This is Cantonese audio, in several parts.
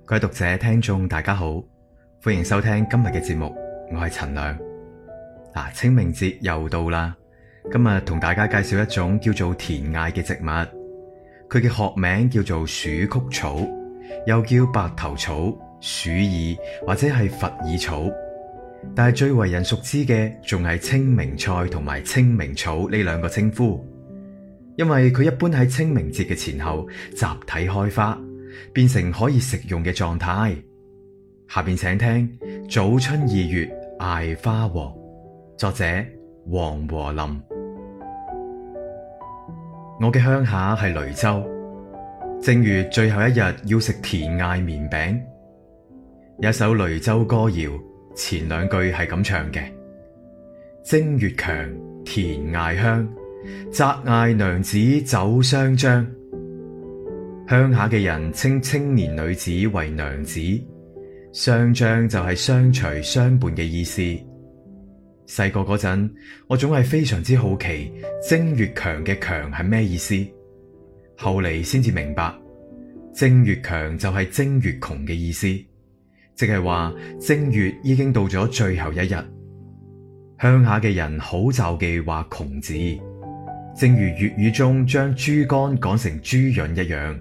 各位讀者聽眾大家好，歡迎收聽今日嘅節目，我係陳亮。清明節又到啦，今日同大家介紹一種叫做田艾嘅植物，佢嘅學名叫做鼠曲草，又叫白頭草、鼠耳或者係佛耳草，但係最為人熟知嘅仲係清明菜同埋清明草呢兩個稱呼，因為佢一般喺清明節嘅前後集體開花，變成可以食用嘅狀態。下邊請聽早春2月艾花黃，作者黃和林。我嘅鄉下係雷州，正月最後一日要食田艾綿餅。有一首雷州歌謠，前兩句係咁唱嘅：正月強，田艾香，摘艾娘子走雙張。鄉下嘅人稱青年女子為娘子，雙張就係相隨相伴嘅意思。細個嗰陣，我總係非常之好奇正月強嘅強係咩意思，後嚟先至明白，正月強就係正月窮嘅意思，即係話正月已經到咗最後一日。鄉下嘅人好罩忌話窮字，正如粵語中將豬肝講成豬潤一樣。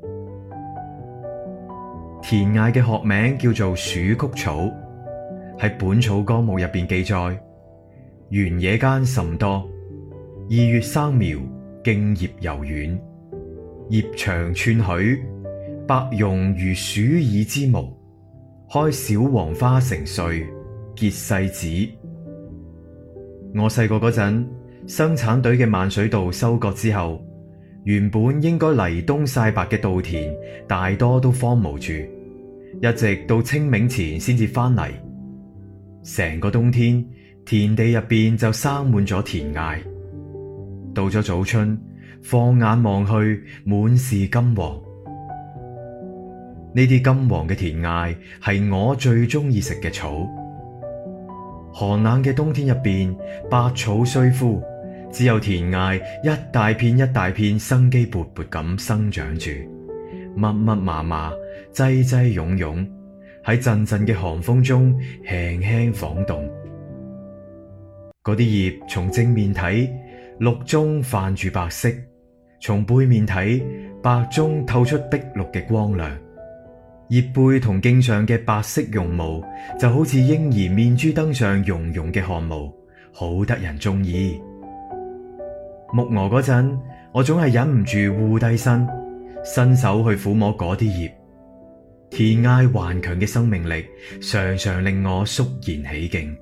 田艾嘅學名叫做鼠曲草，喺《本草綱目》入邊記載，原野間甚多，2月生苗，莖葉柔軟，葉長寸許，白茸如鼠耳之毛，開小黃花成穗，結細子。我細個嗰陣，生產隊嘅萬水稻收割之後，原本應該犁冬曬白嘅稻田大多都荒蕪住，一直到清明前先至翻嚟。成個冬天，田地入邊就生滿咗田艾。到咗早春，放眼望去，滿是金黃。呢啲金黃嘅田艾係我最中意食嘅草。寒冷嘅冬天入邊，百草雖枯，只有田艾一大片一大片生機勃勃咁生長住，密密麻麻，擠擠擁擁，喺陣陣嘅寒風中輕輕晃動。嗰啲葉從正面睇，綠中泛住白色，從背面睇，白中透出碧綠嘅光亮。葉背同莖上嘅白色絨毛就好似嬰兒面珠燈上茸茸嘅汗毛，好得人中意。牧鵝嗰陣，我總係忍唔住護低身，伸手去撫摸嗰啲葉。田艾頑強嘅生命力常常令我肅然起敬。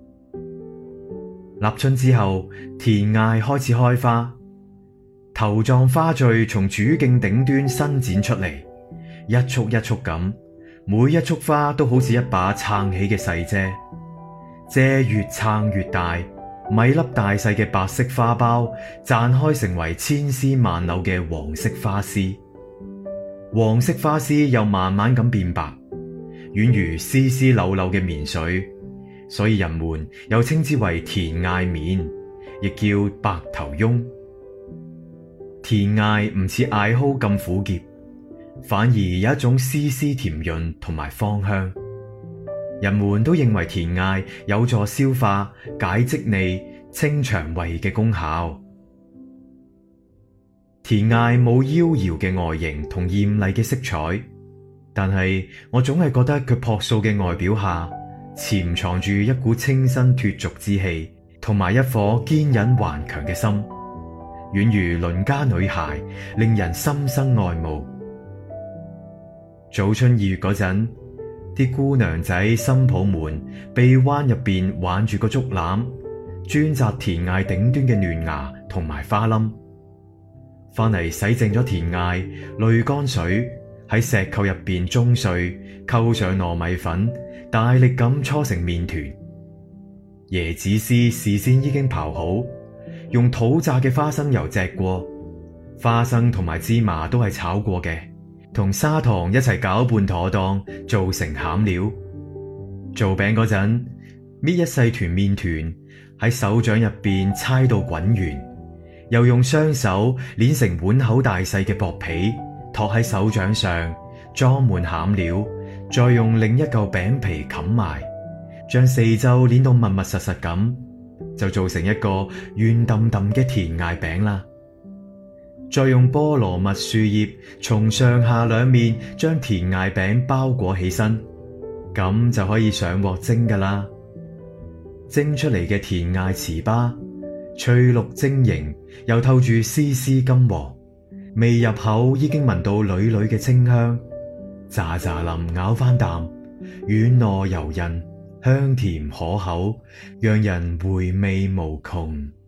立春之後，田艾開始開花，頭狀花序從主莖頂端伸展出嚟，一束一束咁，每一束花都好似一把撐起嘅細遮，遮越撐越大，米粒大細嘅白色花苞綻開成為千絲萬縷嘅黃色花絲，黃色花絲又慢慢咁變白，宛如絲絲縷縷嘅棉絮，所以人們又稱之為田艾棉，亦叫白頭翁。田艾唔似艾蒿咁苦澀，反而有一種絲絲甜潤同埋芳香。人們都認為田艾有助消化、解積膩、清腸胃嘅功效。田艾冇妖嬈嘅外形同艷麗嘅色彩，但係我總係覺得佢樸素嘅外表下潛藏住一股清新脫俗之氣，同埋一顆堅忍頑強嘅心，宛如鄰家女孩，令人心生愛慕。早春2月嗰陣，啲姑娘仔新抱們臂彎入邊挽住個竹籃，專摘田艾頂端嘅嫩芽同埋花冧，翻嚟洗淨咗田艾，濾乾水，喺石臼入邊舂碎，溝上糯米粉，大力咁搓成麵團。椰子絲事先已經刨好，用土榨嘅花生油漬過，花生同埋芝麻都係炒過嘅，同砂糖一齊攪拌妥當，做成餡料。做餅嗰陣，搣一細團麵團喺手掌入邊搓到滾圓，又用雙手捏成碗口大細嘅薄皮，托喺手掌上，裝滿餡料， 再用另一嚿餅皮冚埋，將四周捏到密密實實咁，就做成一個圓揼揼嘅甜艾餅啦。再用菠蘿蜜樹葉從上下兩面將甜艾餅包裹起身，咁就可以上鑊蒸噶啦。蒸出嚟嘅甜艾糍粑，翠綠晶瑩，又透住絲絲金黃，未入口已經聞到縷縷嘅清香，咋咋林咬翻啖，軟糯柔韌，香甜可口，讓人回味無窮。